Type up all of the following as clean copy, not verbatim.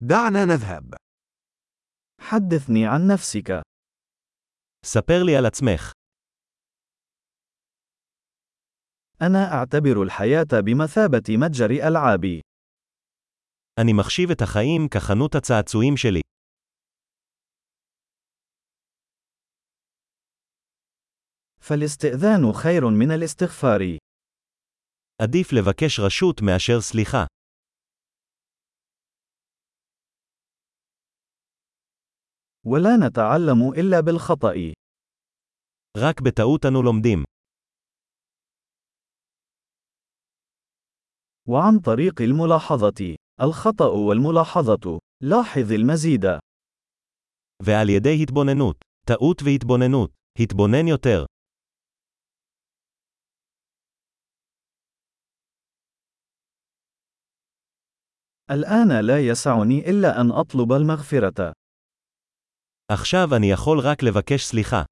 دعنا نذهب. حدثني عن نفسك. ספר לי על עצמך. أنا أعتبر الحياة بمثابة متجر ألعاب. אני מחשיב את החיים כחנות הצעצועים שלי. فالاستئذان خير من الاستغفار. עדיף לבקש רשות מאשר סליחה. ولا نتعلم إلا بالخطأ. רק בטעות אנו לומדים. وعن طريق الملاحظة. الخطأ والملاحظة. لاحظ المزيد. ועל ידי התבוננות. טעות והתבוננות. התבונן יותר. الآن لا يسعني إلا أن أطلب المغفرة. עכשיו אני יכול רק לבקש סליחה.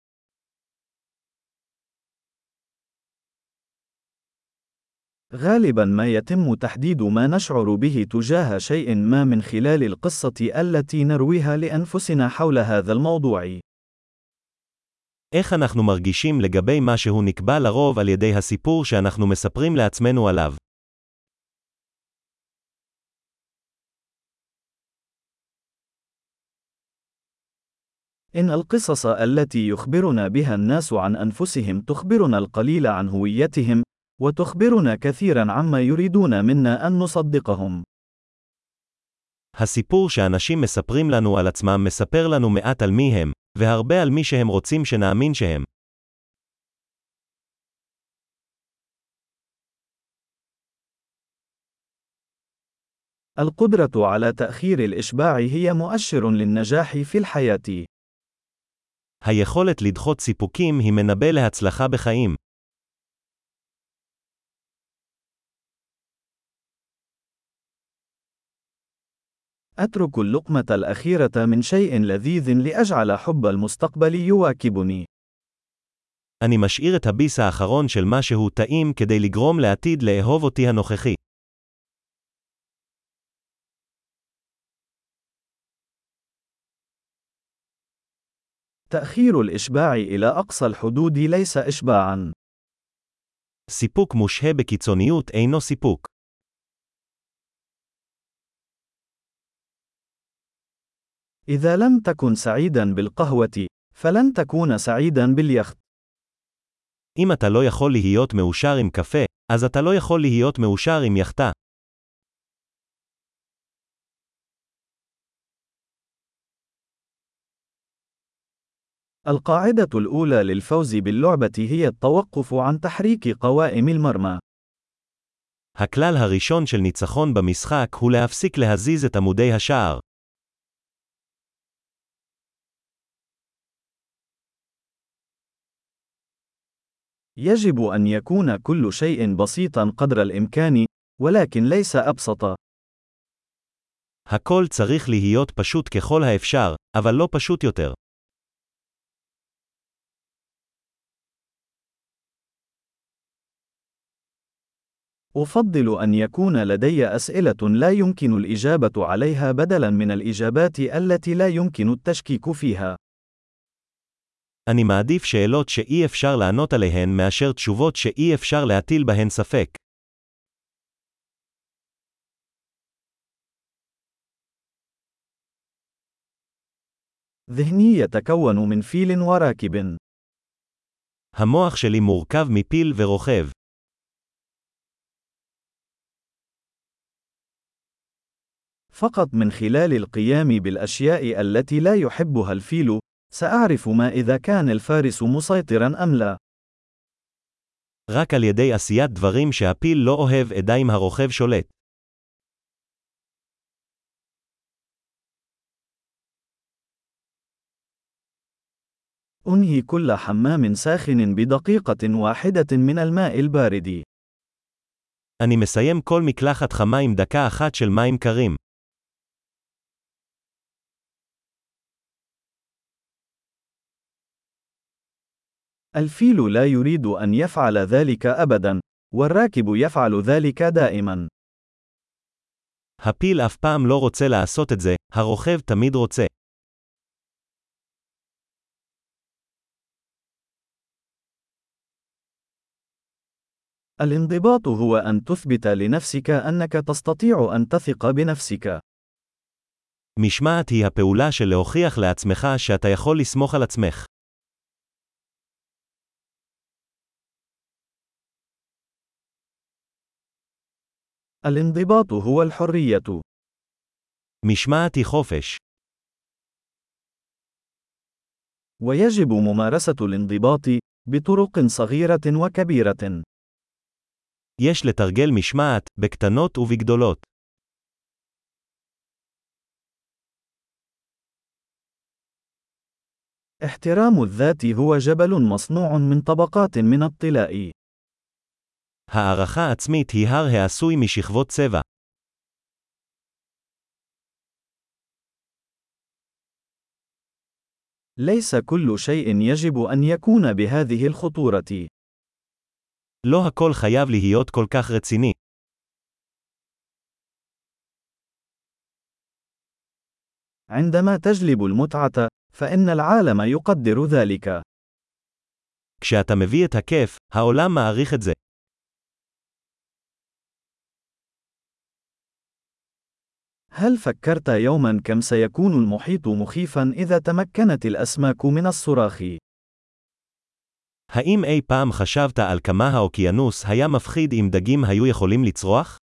غالبا ما يتم تحديد ما نشعر به تجاه شيء ما من خلال القصة التي نرويها لأنفسنا حول هذا الموضوع. איך אנחנו מרגישים לגבי משהו נקבע לרוב על ידי הסיפור שאנחנו מספרים לעצמנו עליו. إن القصص التي يخبرنا بها الناس عن أنفسهم تخبرنا القليل عن هويتهم، وتخبرنا كثيرا عما يريدون منا أن نصدقهم. הסיפור שאנשים מספרים לנו על עצמם מספר לנו מעט על מי הם, והרבה על מי שהם רוצים שנאמין שהם. القدرة على تأخير الإشباع هي مؤشر للنجاح في الحياة. היכולת לדחות סיפוקים היא מנבא להצלחה בחיים. أترك اللقمة الأخيرة من شيء لذيذ لأجعل حب المستقبل يواكبني. אני משאיר את הביס האחרון של משהו טעים כדי לגרום לעתיד לאהוב אותי הנוכחי. تأخير الإشباع إلى أقصى الحدود ليس إشباعا. סיפוק מושהה בקיצוניות אינו סיפוק. إذا لم تكن سعيدا بالقهوة، فلن تكون سعيدا باليخت. אם אתה לא יכול להיות מאושר עם קפה, אז אתה לא יכול להיות מאושר עם יחטה. القاعدة الأولى للفوز باللعبة هي التوقف عن تحريك قوائم المرمى. הכלל הראשון של ניצחון במשחק הוא להפסיק להזיז את עמודי השער. يجب أن يكون كل شيء بسيطا قدر الإمكان، ولكن ليس أبسط. הכל צריך להיות פשוט ככל האפשר, אבל לא פשוט יותר. أفضل أن يكون لدي أسئلة لا يمكن الإجابة عليها بدلاً من الإجابات التي لا يمكن التشكيك فيها. אני מעדיף שאלות שאי אפשר לענות עליהן מאשר תשובות שאי אפשר להטיל בהן ספק. ذهني يتكون من فيل وراكب. המוח שלי מורכב מפיל ורוכב. فقط من خلال القيام بالأشياء التي لا يحبها الفيل، سأعرف ما إذا كان الفارس مسيطراً أم لا. רק על ידי עשיית דברים שהפיל לא אוהב אדע אם הרוכב שולט. أنهي كل حمام ساخن بدقيقة واحدة من الماء البارد. אני מסיים כל מקלחת חמה עם דקה אחת של מים קרים. الفيل لا يريد أن يفعل ذلك أبداً، والراكب يفعل ذلك دائماً. הפיל אף פעם לא רוצה לעשות את זה, הרוכב תמיד רוצה. الانضباط هو أن تثبت لنفسك أنك تستطيع أن تثق بنفسك. משמעת היא הפעולה של להוכיח לעצמך שאתה יכול לסמוך על עצמך. الانضباط هو الحرية. משמעת היא חופש. ويجب ممارسة الانضباط بطرق صغيرة وكبيرة. יש לתרגל משמעת, בקטנות ובגדולות. احترام الذات هو جبل مصنوع من طبقات من الطلاء. הערכה עצמית היא הר העשוי משכבות צבע. ليس كل شيء يجب أن يكون بهذه الخطورة. לא הכל חייב להיות כל כך רציני. عندما تجلب المتعة، فإن العالم يقدر ذلك. כשאתה מביא את הכיף, העולם מעריך את זה. هل فكرت يوما كم سيكون المحيط مخيفا إذا تمكنت الأسماك من الصراخ؟ האם אי פעם חשבת על כמה האוקיינוס היה מפחיד אם דגים היו יכולים לצרוח?